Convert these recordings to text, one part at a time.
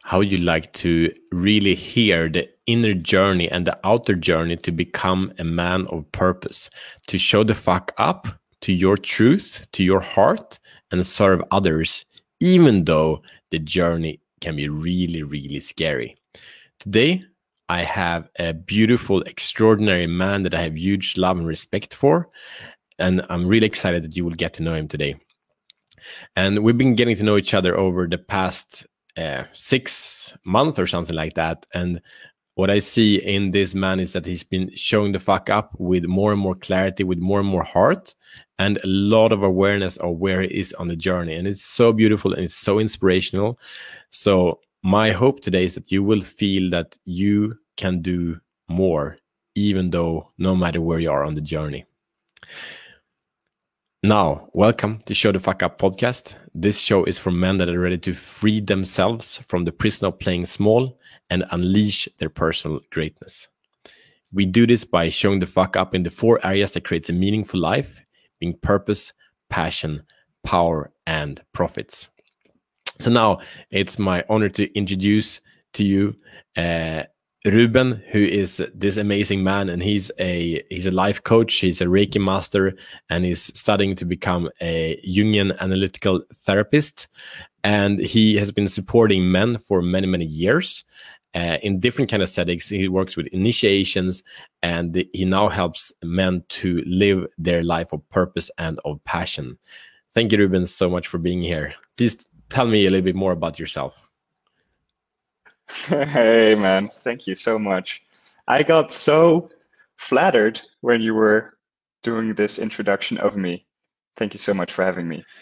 how you like to really hear the inner journey and the outer journey to become a man of purpose, to show the fuck up to your truth, to your heart, and serve others, even though the journey can be really, really scary. Today, I have a beautiful, extraordinary man that I have huge love and respect for, and I'm really excited that you will get to know him today. And we've been getting to know each other over the past 6 months or something like that. And what I see in this man is that he's been showing the fuck up with more and more clarity, with more and more heart, and a lot of awareness of where he is on the journey. And it's so beautiful and it's so inspirational. So my hope today is that you will feel that you can do more, even though no matter where you are on the journey. Now, welcome to Show the Fuck Up podcast. This show is for men that are ready to free themselves from the prison of playing small and unleash their personal greatness. We do this by showing the fuck up in the 4 areas that creates a meaningful life, being purpose, passion, power, and profits. So now it's my honor to introduce to you Ruben, who is this amazing man, and he's a life coach, he's a Reiki master, and he's studying to become a Jungian analytical therapist. And he has been supporting men for many, many years in different kind of settings. He works with initiations, and he now helps men to live their life of purpose and of passion. Thank you, Ruben, so much for being here. Please tell me a little bit more about yourself. Hey, man. Thank you so much. I got so flattered when you were doing this introduction of me. Thank you so much for having me.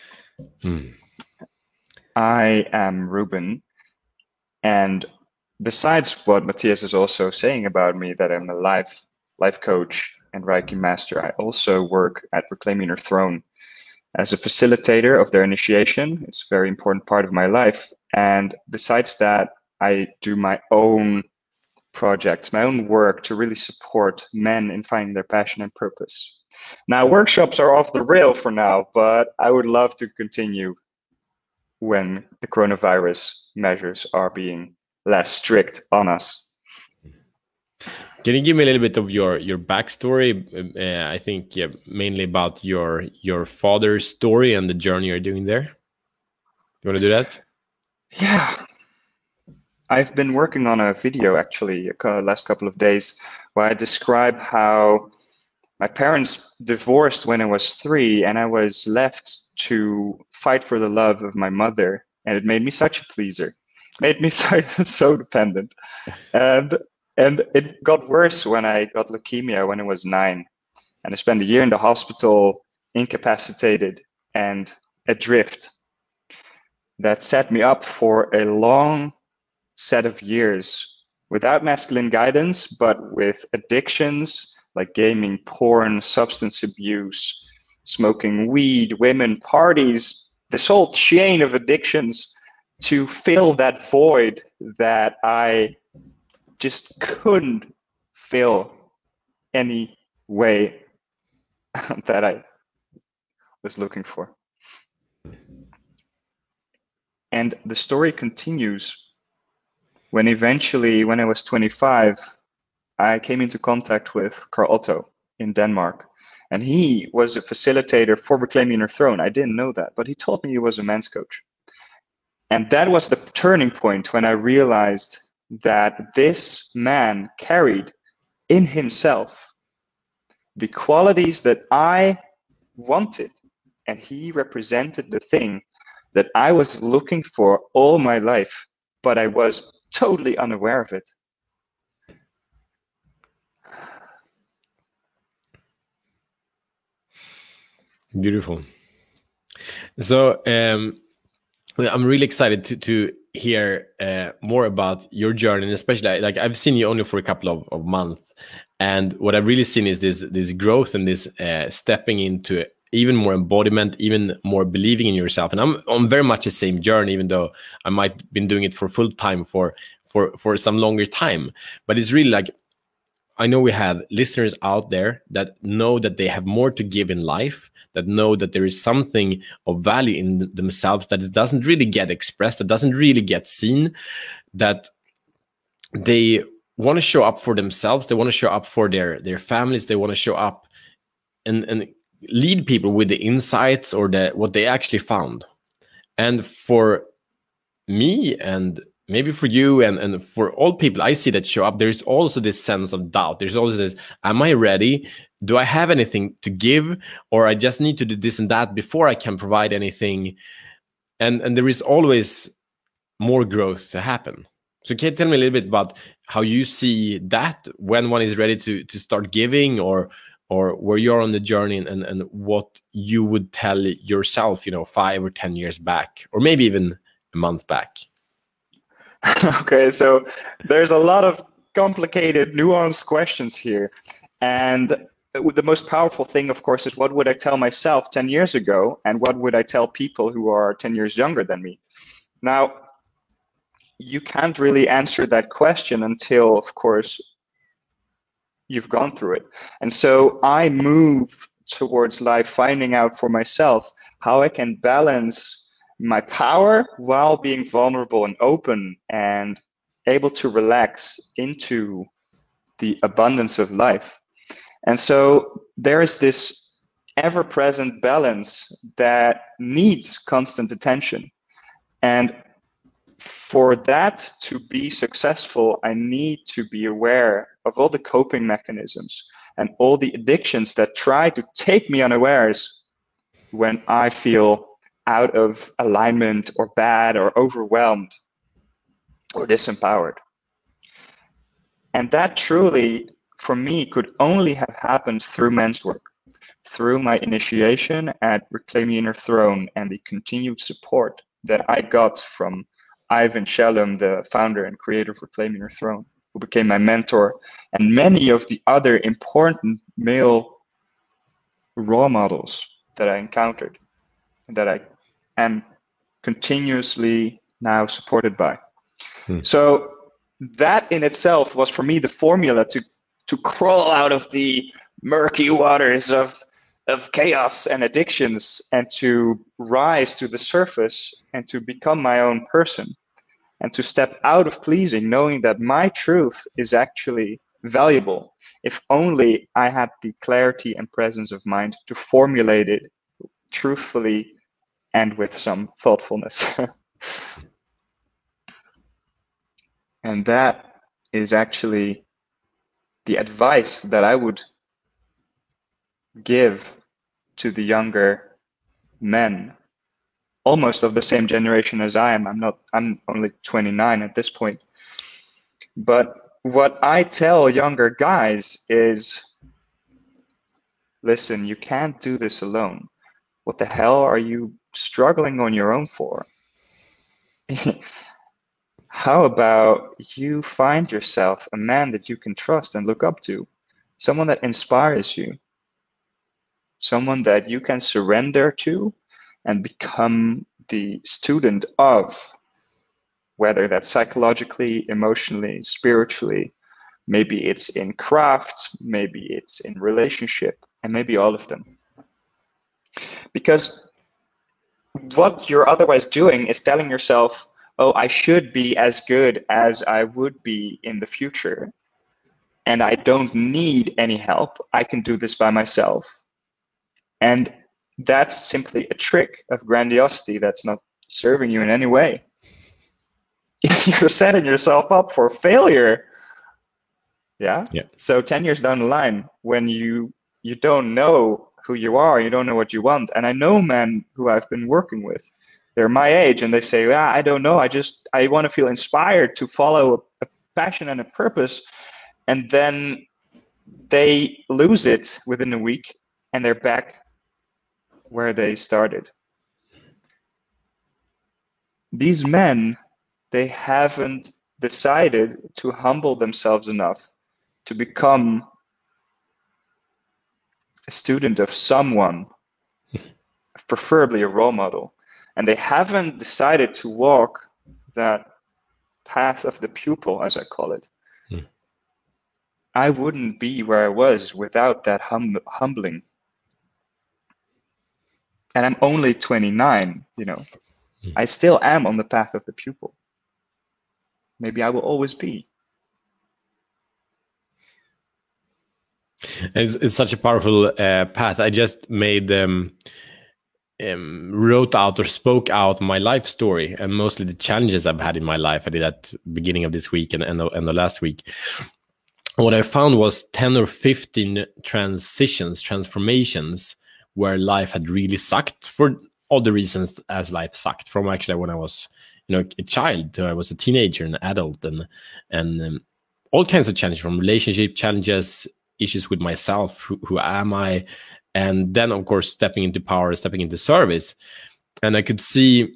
I am Ruben, and besides what Matthias is also saying about me, that I'm a life coach and Reiki master, I also work at Reclaiming Your Throne as a facilitator of their initiation. It's a very important part of my life. And besides that, I do my own projects, my own work to really support men in finding their passion and purpose. Now, workshops are off the rail for now, but I would love to continue when the coronavirus measures are being less strict on us. Can you give me a little bit of your backstory? I think mainly about your father's story and the journey you're doing there. You want to do that? Yeah. I've been working on a video actually last couple of days where I describe how my parents divorced when I was 3 and I was left to fight for the love of my mother, and it made me such a pleaser. It made me so dependent. And it got worse when I got leukemia when I was 9, and I spent a year in the hospital, incapacitated and adrift. That set me up for a long set of years without masculine guidance, but with addictions like gaming, porn, substance abuse, smoking weed, women, parties, this whole chain of addictions to fill that void that I just couldn't fill any way that I was looking for. And the story continues when eventually, when I was 25, I came into contact with Carl Otto in Denmark. And he was a facilitator for Reclaiming Your Throne. I didn't know that, but he told me he was a men's coach. And that was the turning point when I realized that this man carried in himself the qualities that I wanted. And he represented the thing that I was looking for all my life, but I was totally unaware of it. Beautiful. So I'm really excited to hear more about your journey, and especially like I've seen you only for a couple of months, and what I've really seen is this growth and this stepping into even more embodiment, even more believing in yourself. And I'm on very much the same journey, even though I might have been doing it for full time for some longer time. But it's really like, I know we have listeners out there that know that they have more to give in life, that know that there is something of value in themselves that it doesn't really get expressed, that doesn't really get seen. that they want to show up for themselves, they want to show up for their families, they want to show up and lead people with the insights or what they actually found. And for me, and maybe for you, and for all people I see that show up, there's also this sense of doubt. There's always this, am I ready? Do I have anything to give? Or I just need to do this and that before I can provide anything? And there is always more growth to happen. So can you tell me a little bit about how you see that, when one is ready to start giving, or where you're on the journey, and what you would tell yourself, 5 or 10 years back, or maybe even a month back? Okay, so there's a lot of complicated, nuanced questions here. And the most powerful thing, of course, is what would I tell myself 10 years ago, and what would I tell people who are 10 years younger than me? Now, you can't really answer that question until, of course, you've gone through it. And so I move towards life finding out for myself how I can balance my power while being vulnerable and open and able to relax into the abundance of life. And so there is this ever-present balance that needs constant attention. And for that to be successful, I need to be aware of all the coping mechanisms and all the addictions that try to take me unawares when I feel out of alignment or bad or overwhelmed or disempowered. And that truly, for me, could only have happened through men's work, through my initiation at Reclaim Your Inner Throne and the continued support that I got from Ivan Shalom, the founder and creator of Reclaim Your Throne, who became my mentor, and many of the other important male role models that I encountered and that I am continuously now supported by. So that in itself was for me the formula to crawl out of the murky waters of chaos and addictions and to rise to the surface and to become my own person and to step out of pleasing, knowing that my truth is actually valuable if only I had the clarity and presence of mind to formulate it truthfully and with some thoughtfulness. And that is actually the advice that I would give to the younger men, almost of the same generation as I am. I'm only 29 at this point. But what I tell younger guys is, listen, you can't do this alone. What the hell are you struggling on your own for? How about you find yourself a man that you can trust and look up to, someone that inspires you, someone that you can surrender to and become the student of, whether that's psychologically, emotionally, spiritually. Maybe it's in craft, maybe it's in relationship, and maybe all of them. Because what you're otherwise doing is telling yourself, oh, I should be as good as I would be in the future, and I don't need any help. I can do this by myself. And that's simply a trick of grandiosity that's not serving you in any way. You're setting yourself up for failure. Yeah? So 10 years down the line, when you don't know who you are, you don't know what you want. And I know men who I've been working with, they're my age, and they say, I don't know, I want to feel inspired to follow a passion and a purpose. And then they lose it within a week, and they're back where they started. These men, they haven't decided to humble themselves enough to become a student of someone, preferably a role model. And they haven't decided to walk that path of the pupil, as I call it. I wouldn't be where I was without that humbling. And I'm only 29, I still am on the path of the pupil. maybe I will always be. It's such a powerful path. I just wrote out or spoke out my life story, and mostly the challenges I've had in my life. I did that beginning of this week and the last week. What I found was 10 or 15 transformations where life had really sucked for all the reasons as life sucked, from actually when I was, a child to I was a teenager and adult, and all kinds of challenges, from relationship challenges, issues with myself, who am I, and then of course stepping into power, stepping into service. And I could see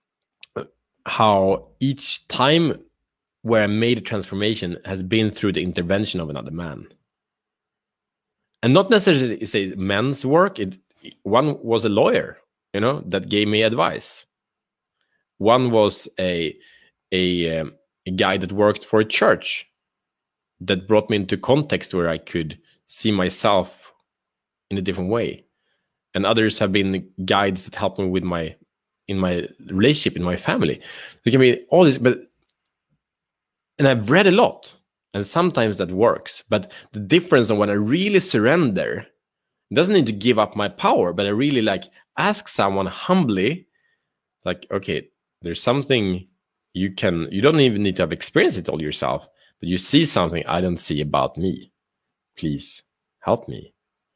how each time where I made a transformation has been through the intervention of another man. And not necessarily say men's work. One was a lawyer, that gave me advice. One was a guy that worked for a church that brought me into context where I could see myself in a different way. And others have been guides that helped me with in my relationship, in my family. There can be all this, and I've read a lot, and sometimes that works. But the difference on when I really surrender, it doesn't need to give up my power, but I really ask someone humbly, okay, there's something you don't even need to have experienced it all yourself, but you see something I don't see about me. Please help me.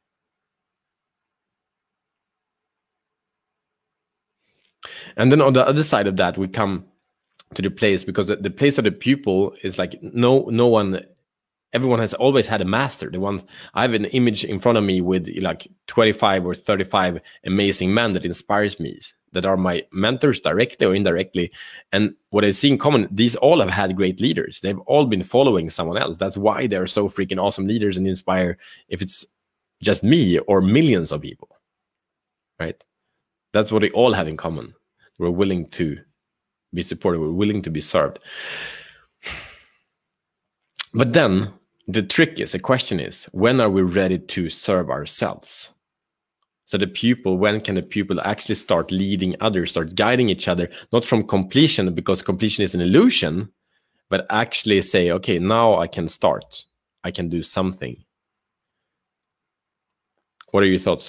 And then on the other side of that, we come to the place, because the place of the pupil is everyone has always had a master. I have an image in front of me with 25 or 35 amazing men that inspires me, that are my mentors directly or indirectly. And what I see in common, these all have had great leaders. They've all been following someone else. That's why they're so freaking awesome leaders and inspire, if it's just me or millions of people, right? That's what they all have in common. We're willing to be supported. We're willing to be served. But then the question is, when are we ready to serve ourselves? So when can the pupil actually start leading others, start guiding each other, not from completion, because completion is an illusion, but actually say, okay, now I can start. I can do something. What are your thoughts?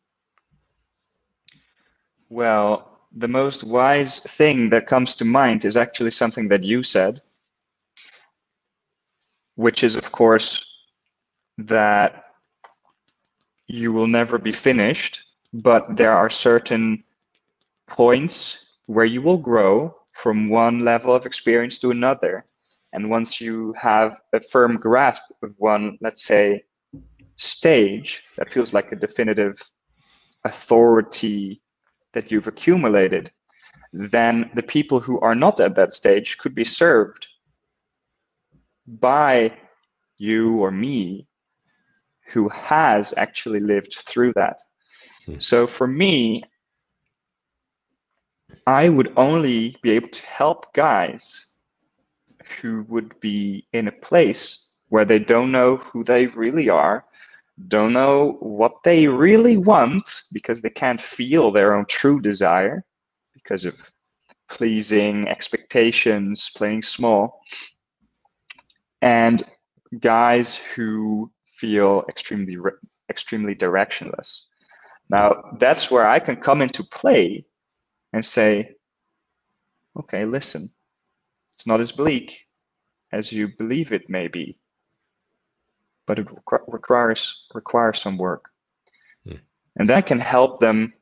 Well, the most wise thing that comes to mind is actually something that you said, which is, of course, that you will never be finished, but there are certain points where you will grow from one level of experience to another. And once you have a firm grasp of one, let's say, stage that feels like a definitive authority that you've accumulated, then the people who are not at that stage could be served by you or me, who has actually lived through that. So for me, I would only be able to help guys who would be in a place where they don't know who they really are, don't know what they really want, because they can't feel their own true desire because of pleasing expectations, playing small, and guys who feel extremely directionless. Now, that's where I can come into play and say, okay, listen, it's not as bleak as you believe it may be, but it requires some work. And that can help them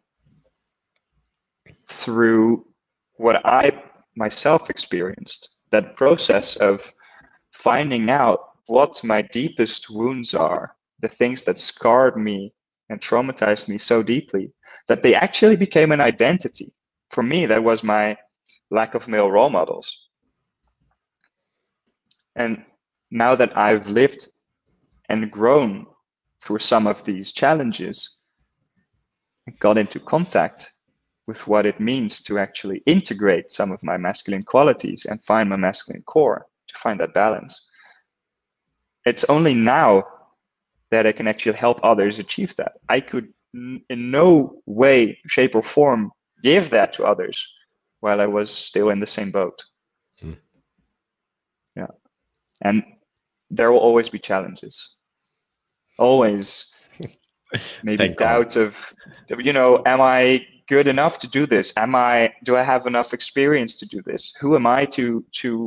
through what I myself experienced, that process of finding out what my deepest wounds are, the things that scarred me and traumatized me so deeply that they actually became an identity. For me, that was my lack of male role models. And now that I've lived and grown through some of these challenges, I got into contact with what it means to actually integrate some of my masculine qualities and find my masculine core, to find that balance. It's only now that I can actually help others achieve that. I could in no way, shape, or form give that to others while I was still in the same boat. And there will always be challenges. Always maybe doubts of, am I good enough to do this? Do I have enough experience to do this? Who am I to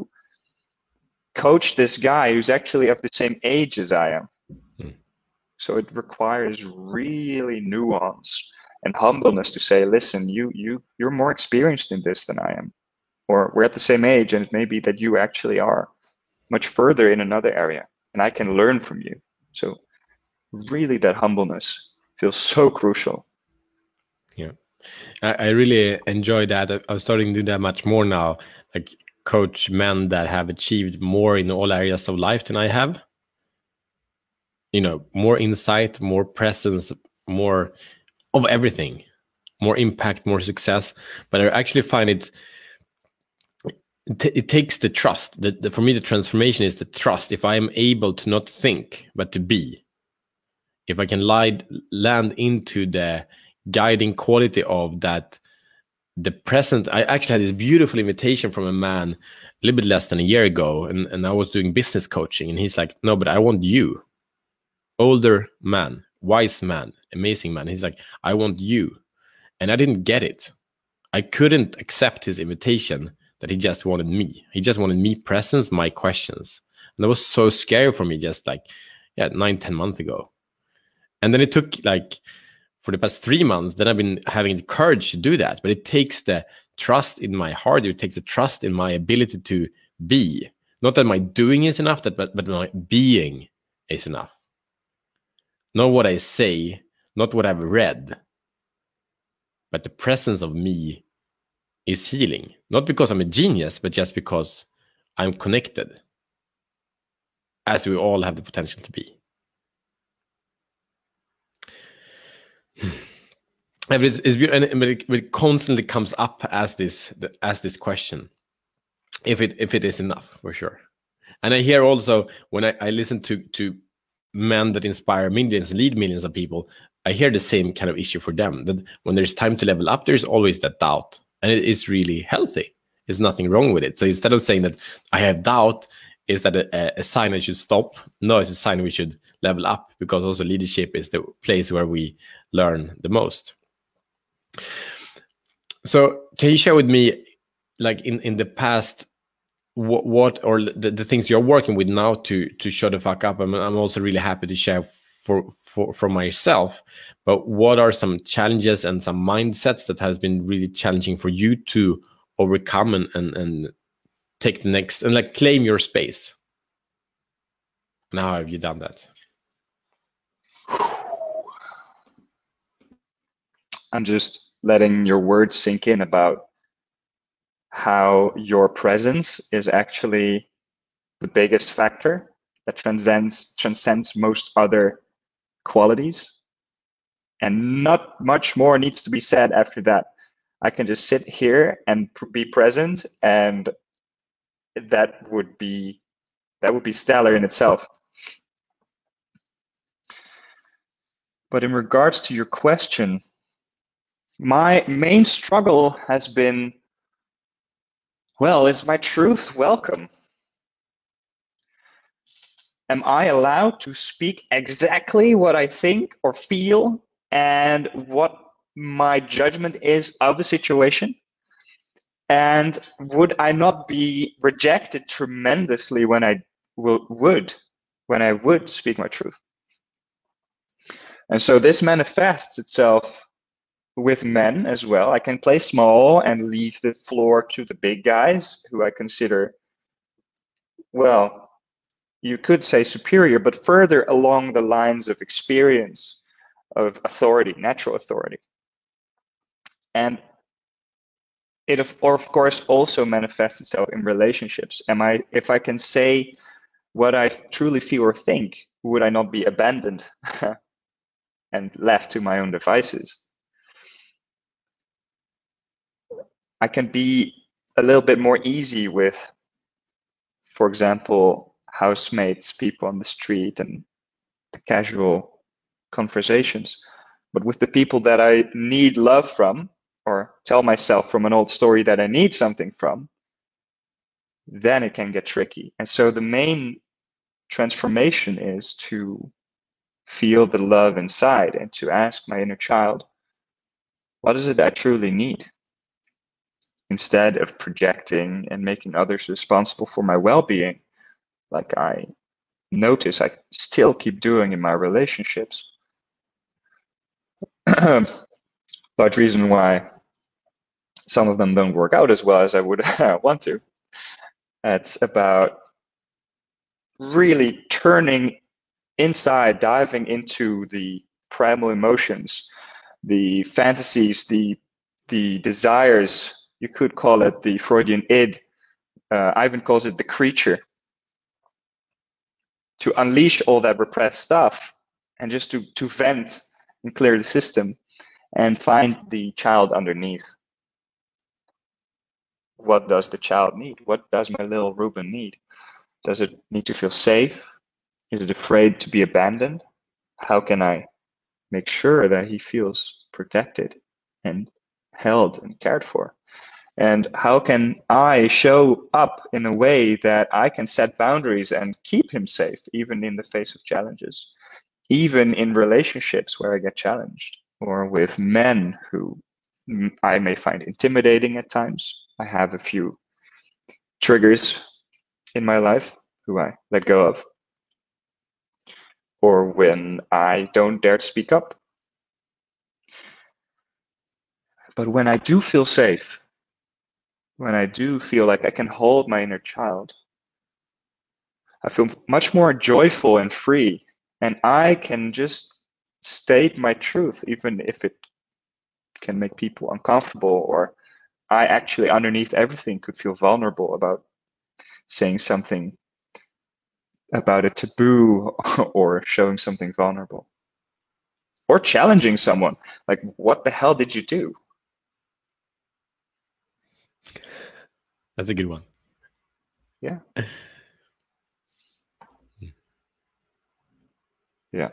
coach this guy who's actually of the same age as I am? So it requires really nuance and humbleness to say, listen, you're more experienced in this than I am, or we're at the same age, and it may be that you actually are much further in another area, and I can learn from you. So really, that humbleness feels so crucial. Yeah, I really enjoy that. I'm starting to do that much more now, like coach men that have achieved more in all areas of life than I have. More insight, more presence, more of everything, more impact, more success. But I actually find it takes the trust. For me, the transformation is the trust. If I am able to not think, but to be, if I can land into the guiding quality of that, the present. I actually had this beautiful invitation from a man a little bit less than a year ago, and I was doing business coaching, and he's like, no, but I want you. Older man, wise man, amazing man. He's like, I want you. And I didn't get it. I couldn't accept his invitation that he just wanted me. He just wanted me presence, my questions. And that was so scary for me just 9-10 months ago. And then it took for the past 3 months, then I've been having the courage to do that. But it takes the trust in my heart. It takes the trust in my ability to be. Not that my doing is enough, but my being is enough. Not what I say, not what I've read, but the presence of me is healing. Not because I'm a genius, but just because I'm connected, as we all have the potential to be. But it constantly comes up as this question, if it is enough, for sure. And I hear also when I listen to men that inspire millions, lead millions of people, I hear the same kind of issue for them, that when there's time to level up, there's always that doubt. And it is really healthy. There's nothing wrong with it. So instead of saying that I have doubt, is that a sign I should stop? No, it's a sign we should level up, because also leadership is the place where we learn the most. So can you share with me, in the past, what or the things you're working with now to shut the fuck up? I'm also really happy to share for myself, but what are some challenges and some mindsets that has been really challenging for you to overcome and take the next and claim your space? And how have you done that? I'm just letting your words sink in about how your presence is actually the biggest factor that transcends most other qualities, and not much more needs to be said after that. I can just sit here and be present, and that would be stellar in itself. But in regards to your question, my main struggle has been, is my truth welcome? Am I allowed to speak exactly what I think or feel and what my judgment is of the situation? And would I not be rejected tremendously when I would speak my truth? And so this manifests itself with men as well. I can play small and leave the floor to the big guys who I consider, you could say superior, but further along the lines of experience, of authority, natural authority. And it of course also manifests itself in relationships. If I can say what I truly feel or think, would I not be abandoned and left to my own devices? I can be a little bit more easy with, for example, housemates, people on the street, and the casual conversations. But with the people that I need love from, or tell myself from an old story that I need something from, then it can get tricky. And so the main transformation is to feel the love inside and to ask my inner child, what is it I truly need? Instead of projecting and making others responsible for my well-being, like I notice I still keep doing in my relationships. Large reason why some of them don't work out as well as I would want to. It's about really turning inside, diving into the primal emotions, the fantasies, the desires. You could call it the Freudian id. Ivan calls it the creature. To unleash all that repressed stuff and just to vent and clear the system and find the child underneath. What does the child need? What does my little Ruben need? Does it need to feel safe? Is it afraid to be abandoned? How can I make sure that he feels protected and held and cared for? And how can I show up in a way that I can set boundaries and keep him safe, even in the face of challenges, even in relationships where I get challenged, or with men who I may find intimidating at times? I have a few triggers in my life who I let go of, or when I don't dare to speak up. But when I do feel safe, when I do feel like I can hold my inner child, I feel much more joyful and free, and I can just state my truth, even if it can make people uncomfortable, or I actually underneath everything could feel vulnerable about saying something about a taboo or showing something vulnerable or challenging someone. Like, what the hell did you do? That's a good one. Yeah. Yeah.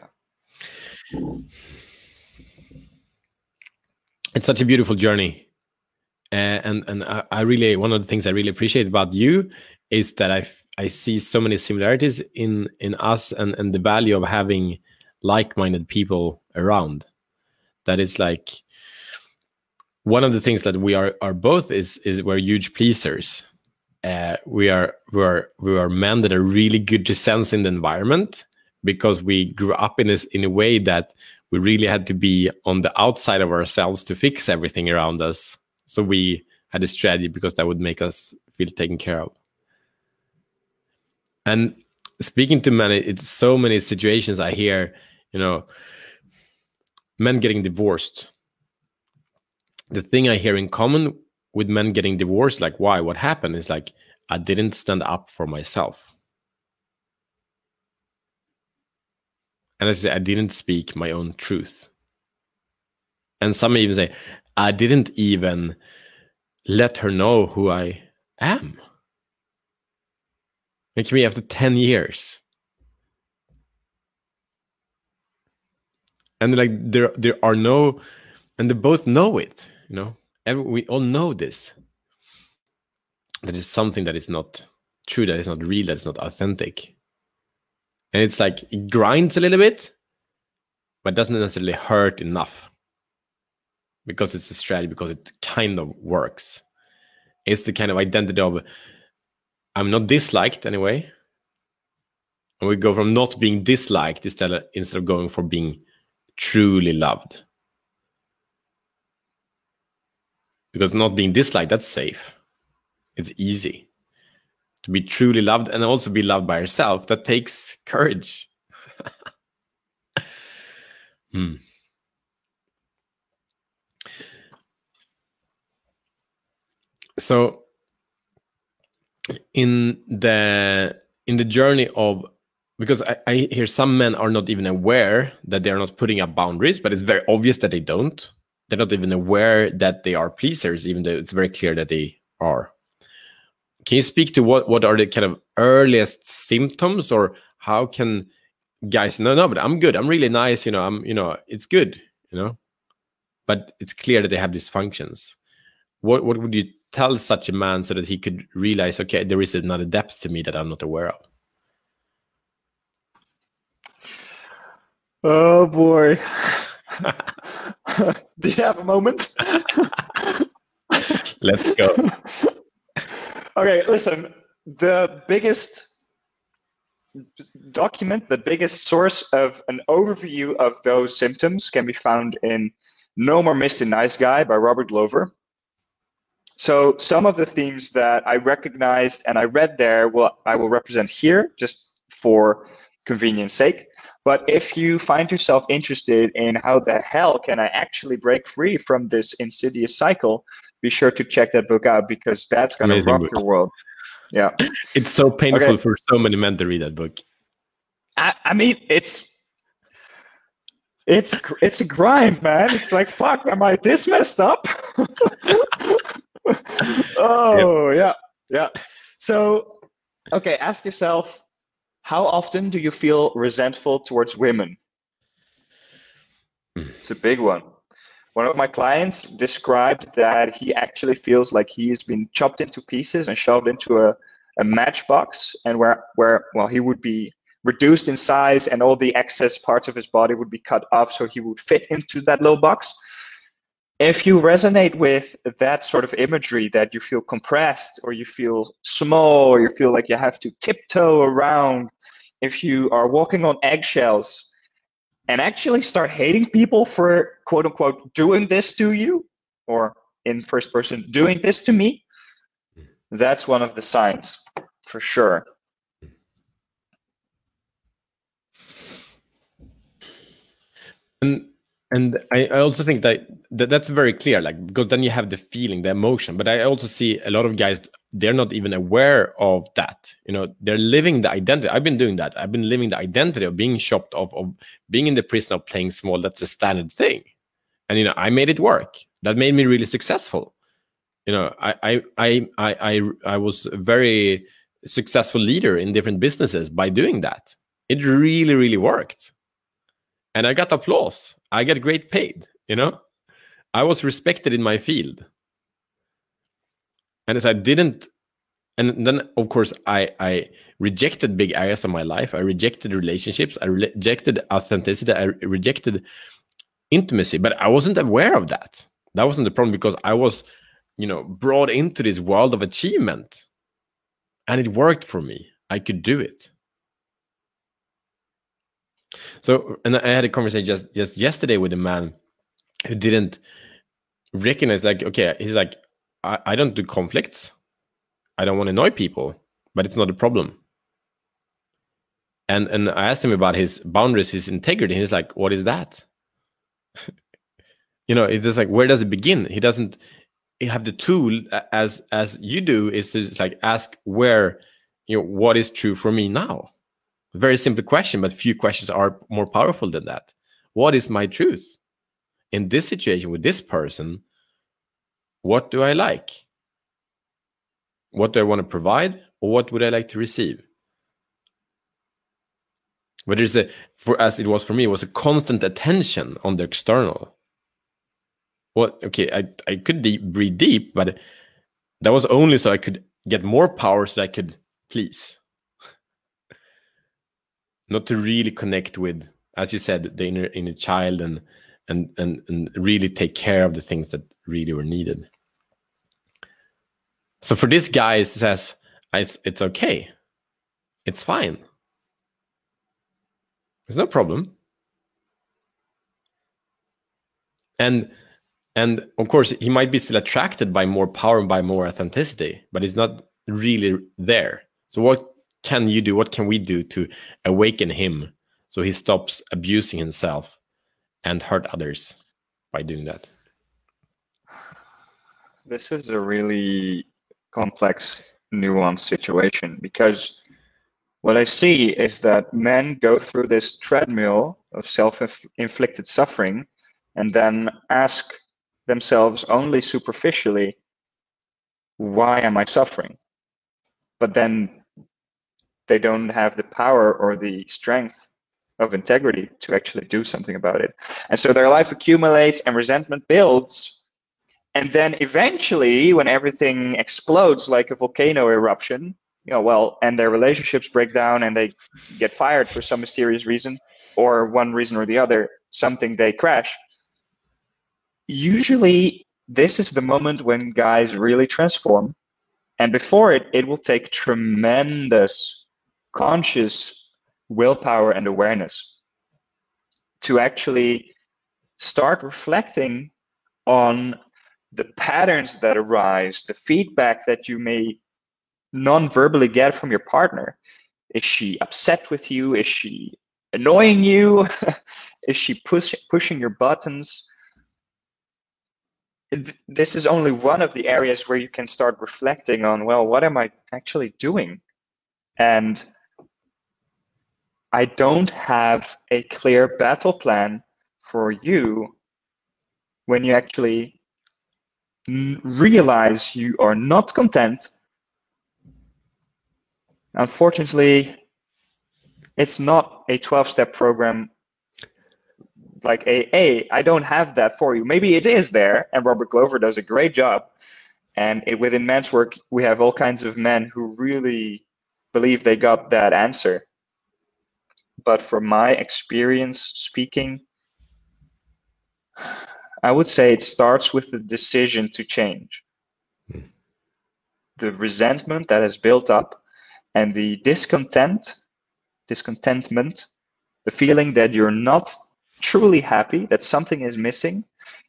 It's such a beautiful journey. And I really, one of the things I really appreciate about you is that I see so many similarities in us and the value of having like-minded people around. That is like one of the things that we are both is we're huge pleasers. We are men that are really good to sense in the environment because we grew up in a way that we really had to be on the outside of ourselves to fix everything around us. So we had a strategy because that would make us feel taken care of. And speaking to men, it's so many situations I hear, men getting divorced. The thing I hear in common with men getting divorced, like, why? What happened? Is like, I didn't stand up for myself. And I say, I didn't speak my own truth. And some even say, I didn't even let her know who I am. Like me after 10 years. And like there are no, and they both know it, we all know this. That is something that is not true, that is not real, that is not authentic. And it's like, it grinds a little bit, but doesn't necessarily hurt enough. Because it's a strategy, because it kind of works. It's the kind of identity of, I'm not disliked anyway. And we go from not being disliked instead of going for being truly loved. Because not being disliked, that's safe. It's easy. To be truly loved and also be loved by yourself, that takes courage. So in the journey of, because I hear some men are not even aware that they are not putting up boundaries, but it's very obvious that they don't. They're not even aware that they are pleasers, even though it's very clear that they are. Can you speak to what are the kind of earliest symptoms, or how can guys, no, but I'm good, I'm really nice, it's good, but it's clear that they have dysfunctions. What would you tell such a man so that he could realize, okay, there is another depth to me that I'm not aware of? Oh boy. Do you have a moment? Let's go. Okay, listen. The biggest document, the biggest source of an overview of those symptoms can be found in No More Mr. Nice Guy by Robert Glover. So some of the themes that I recognized and I read there, I will represent here just for convenience sake. But if you find yourself interested in how the hell can I actually break free from this insidious cycle, be sure to check that book out, because that's going to rock your world. Yeah. It's so painful for so many men to read that book. I mean, it's a grind, man. It's like, fuck, am I this messed up? Oh, yep. Yeah. So, okay, ask yourself, how often do you feel resentful towards women? It's a big one. One of my clients described that he actually feels like he has been chopped into pieces and shoved into a matchbox, and where he would be reduced in size and all the excess parts of his body would be cut off so he would fit into that little box. If you resonate with that sort of imagery, that you feel compressed or you feel small or you feel like you have to tiptoe around, if you are walking on eggshells and actually start hating people for quote unquote doing this to you, or in first person, doing this to me, that's one of the signs for sure. And I also think that's very clear, like, because then you have the feeling, the emotion. But I also see a lot of guys, they're not even aware of that. You know, they're living the identity. I've been doing that. I've been living the identity of being chopped off, of being in the prison of playing small. That's a standard thing. And, you know, I made it work. That made me really successful. You know, I was a very successful leader in different businesses by doing that. It really, really worked. And I got applause. I got great paid, you know? I was respected in my field. And as I didn't, and then of course I rejected big areas of my life. I rejected relationships. I rejected authenticity. I rejected intimacy, but I wasn't aware of that. That wasn't the problem, because I was, you know, brought into this world of achievement, and it worked for me. I could do it. So, and I had a conversation just yesterday with a man who didn't recognize, like, okay, he's like, I don't do conflicts. I don't want to annoy people, but it's not a problem. And I asked him about his boundaries, his integrity. And he's like, what is that? You know, it's just like, where does it begin? He doesn't have the tool as you do, is to just like ask where, you know, what is true for me now? Very simple question, but few questions are more powerful than that. What is my truth? In this situation with this person, what do I like? What do I want to provide? Or what would I like to receive? But as it was for me, it was a constant attention on the external. Well, okay, I could breathe deep, but that was only so I could get more power, so I could please. Not to really connect with, as you said, the inner child, and really take care of the things that really were needed. So for this guy, it says, it's okay. It's fine. There's no problem. And of course, he might be still attracted by more power and by more authenticity, but he's not really there. So what can you do? What can we do to awaken him so he stops abusing himself and hurt others by doing that? This is a really complex, nuanced situation, because what I see is that men go through this treadmill of self-inflicted suffering and then ask themselves only superficially, why am I suffering? But then they don't have the power or the strength of integrity to actually do something about it. And so their life accumulates and resentment builds. And then eventually, when everything explodes like a volcano eruption, and their relationships break down and they get fired for some mysterious reason, or one reason or the other, something, they crash. Usually this is the moment when guys really transform. And before it will take tremendous conscious willpower and awareness to actually start reflecting on the patterns that arise, the feedback that you may non-verbally get from your partner. Is she upset with you? Is she annoying you? Is she pushing your buttons? This is only one of the areas where you can start reflecting on, well, what am I actually doing? And I don't have a clear battle plan for you when you actually realize you are not content. Unfortunately, it's not a 12-step program like AA. I don't have that for you. Maybe it is there, and Robert Glover does a great job. And within men's work, we have all kinds of men who really believe they got that answer. But from my experience speaking, I would say it starts with the decision to change. The resentment that has built up and the discontentment, the feeling that you're not truly happy, that something is missing,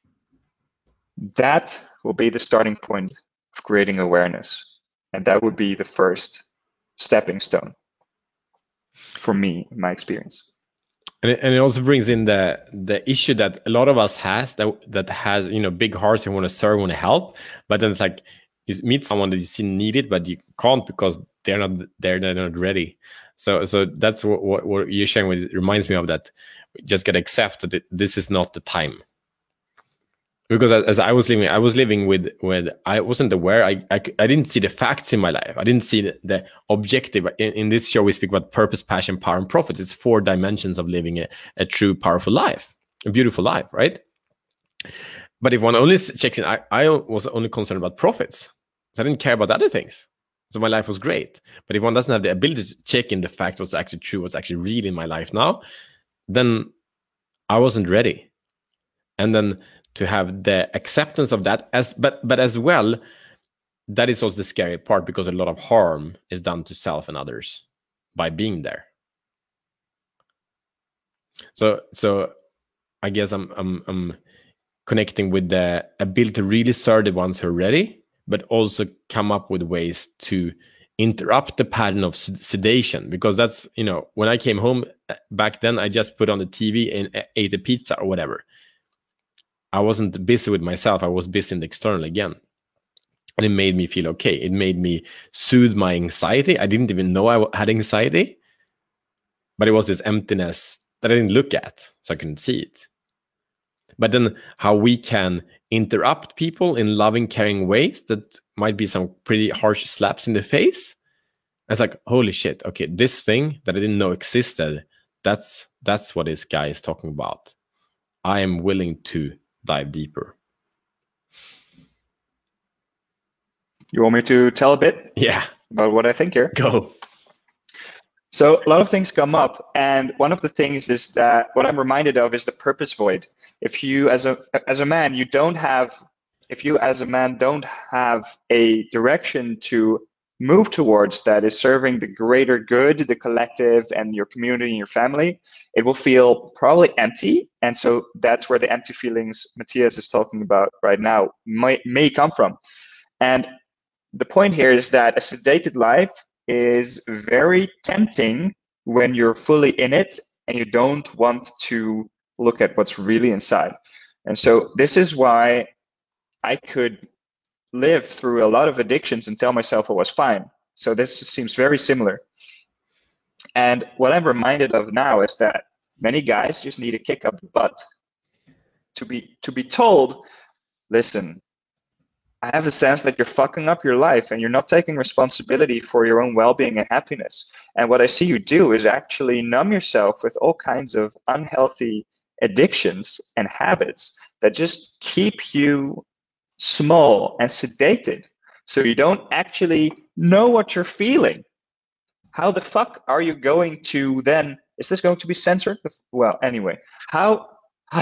that will be the starting point of creating awareness. And that would be the first stepping stone for me, in my experience. And it also brings in the issue that a lot of us has that has, big hearts and want to serve, want to help, but then it's like you meet someone that you see need it, but you can't because they're not there, they're not ready. So that's what you're sharing with. It reminds me of that. Just gotta accept that this is not the time. Because as I was living with I wasn't aware. I didn't see the facts in my life. I didn't see the objective. In this show, we speak about purpose, passion, power, and profit. It's 4 dimensions of living a true, powerful life, a beautiful life, right? But if one only checks in, I was only concerned about profits. So I didn't care about other things. So my life was great. But if one doesn't have the ability to check in the fact what's actually true, what's actually real in my life now, then I wasn't ready. And then to have the acceptance of that, but as well, that is also the scary part, because a lot of harm is done to self and others by being there. So I guess I'm connecting with the ability to really serve the ones who are ready, but also come up with ways to interrupt the pattern of sedation. Because that's, when I came home back then, I just put on the TV and ate a pizza or whatever. I wasn't busy with myself. I was busy in the external again. And it made me feel okay. It made me soothe my anxiety. I didn't even know I had anxiety, but it was this emptiness that I didn't look at, so I couldn't see it. But then how we can interrupt people in loving, caring ways that might be some pretty harsh slaps in the face. It's like, holy shit, okay, this thing that I didn't know existed, that's what this guy is talking about. I am willing to dive deeper. You want me to tell a bit? Yeah. About what I think here? Go. So a lot of things come up, and one of the things is that what I'm reminded of is the purpose void. If you as a man don't have a direction to move towards that is serving the greater good, the collective, and your community and your family, it will feel probably empty. And so that's where the empty feelings Matthias is talking about right now may come from. And the point here is that a sedated life is very tempting when you're fully in it and you don't want to look at what's really inside. And so this is why I could live through a lot of addictions and tell myself I was fine. So this seems very similar. And what I'm reminded of now is that many guys just need a kick up the butt to be told, listen, I have a sense that you're fucking up your life and you're not taking responsibility for your own well-being and happiness. And what I see you do is actually numb yourself with all kinds of unhealthy addictions and habits that just keep you small and sedated. So you don't actually know what you're feeling, how the fuck are you going to then, is this going to be censored? Well, anyway, how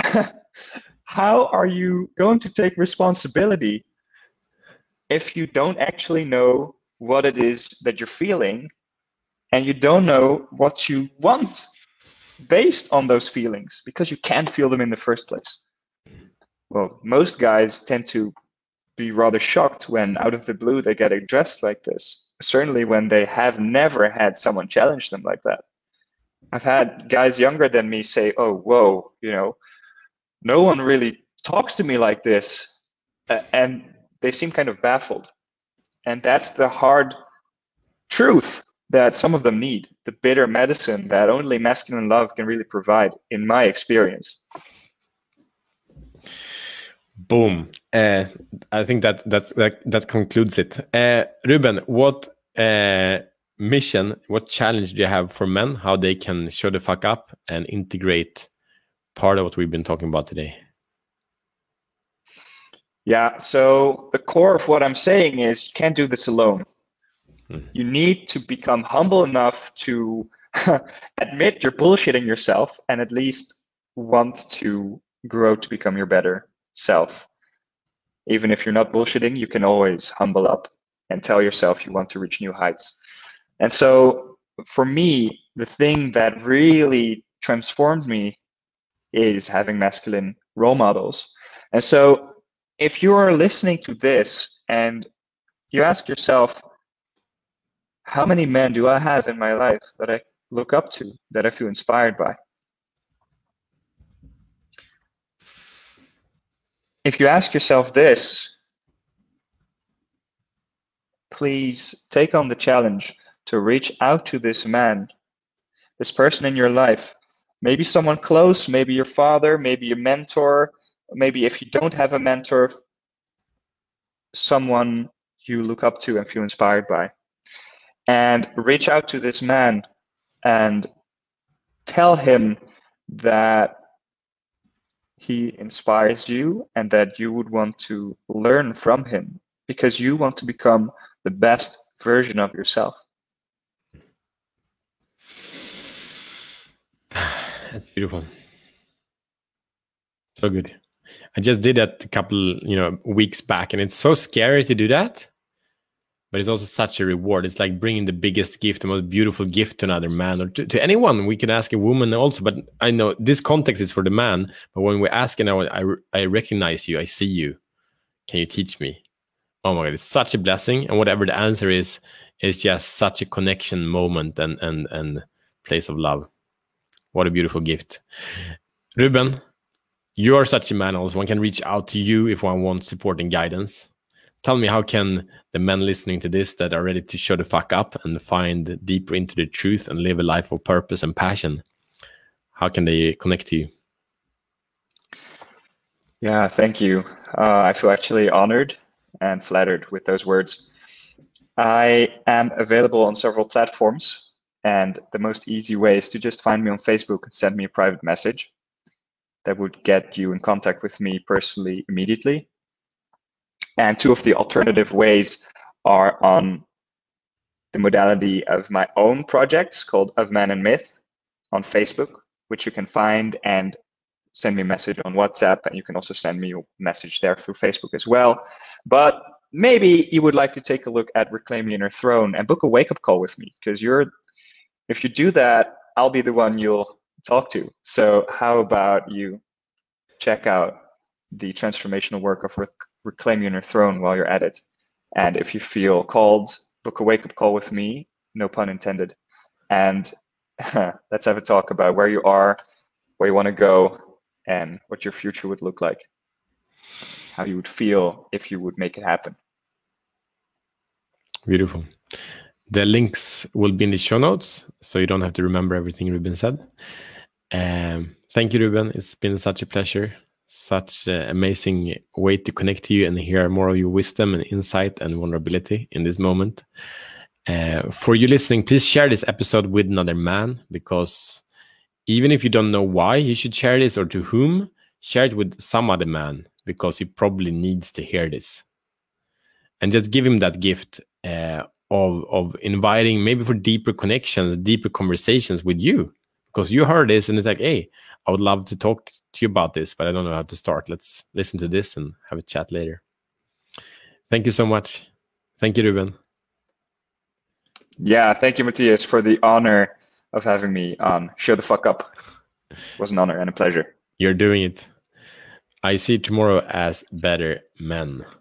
are you going to take responsibility if you don't actually know what it is that you're feeling, and you don't know what you want based on those feelings, because you can't feel them in the first place? Well, most guys tend to be rather shocked when out of the blue they get addressed like this, certainly when they have never had someone challenge them like that. I've had guys younger than me say, oh, whoa, no one really talks to me like this, and they seem kind of baffled. And that's the hard truth that some of them need, the bitter medicine that only masculine love can really provide, in my experience. Boom. I think that concludes it. Ruben, what mission, what challenge do you have for men, how they can show the fuck up and integrate part of what we've been talking about today? Yeah, so the core of what I'm saying is you can't do this alone. You need to become humble enough to admit you're bullshitting yourself, and at least want to grow to become your better self. Even if you're not bullshitting, you can always humble up and tell yourself you want to reach new heights. And so for me, the thing that really transformed me is having masculine role models. And so if you are listening to this and you ask yourself, how many men do I have in my life that I look up to, that I feel inspired by? If you ask yourself this, please take on the challenge to reach out to this man, this person in your life. Maybe someone close, maybe your father, maybe a mentor, maybe if you don't have a mentor, someone you look up to and feel inspired by. And reach out to this man and tell him that he inspires you and that you would want to learn from him, because you want to become the best version of yourself. That's beautiful. So good. I just did that a couple, weeks back, and it's so scary to do that. But it's also such a reward. It's like bringing the biggest gift, the most beautiful gift to another man, or to anyone. We can ask a woman also, but I know this context is for the man. But when we ask, I recognize you, I see you. Can you teach me? Oh my God, it's such a blessing. And whatever the answer is just such a connection moment and place of love. What a beautiful gift. Ruben, you are such a man also. One can reach out to you if one wants support and guidance. Tell me, how can the men listening to this that are ready to show the fuck up and find deeper into the truth and live a life of purpose and passion, how can they connect to you? Yeah, thank you. I feel actually honored and flattered with those words. I am available on several platforms, and the most easy way is to just find me on Facebook and send me a private message. That would get you in contact with me personally immediately. And two of the alternative ways are on the modality of my own projects called Of Man and Myth on Facebook, which you can find and send me a message on WhatsApp. And you can also send me a message there through Facebook as well. But maybe you would like to take a look at Reclaim Your Inner Throne and book a wake-up call with me, because if you do that, I'll be the one you'll talk to. So how about you check out the transformational work of Reclaim Your Inner Throne while you're at it. And if you feel called, book a wake-up call with me, no pun intended. And let's have a talk about where you are, where you want to go, and what your future would look like. How you would feel if you would make it happen. Beautiful. The links will be in the show notes, so you don't have to remember everything Ruben said. Thank you, Ruben. It's been such a pleasure. Such an amazing way to connect to you and hear more of your wisdom and insight and vulnerability in this moment. For you listening, please share this episode with another man, because even if you don't know why you should share this or to whom, share it with some other man, because he probably needs to hear this. And just give him that gift of inviting maybe for deeper connections, deeper conversations with you, because you heard this and it's like, hey, I would love to talk to you about this, but I don't know how to start. Let's listen to this and have a chat later. Thank you so much. Thank you, Ruben. Yeah, thank you, Matthias, for the honor of having me on Show the Fuck Up. It was an honor and a pleasure. You're doing it. I see tomorrow as better men.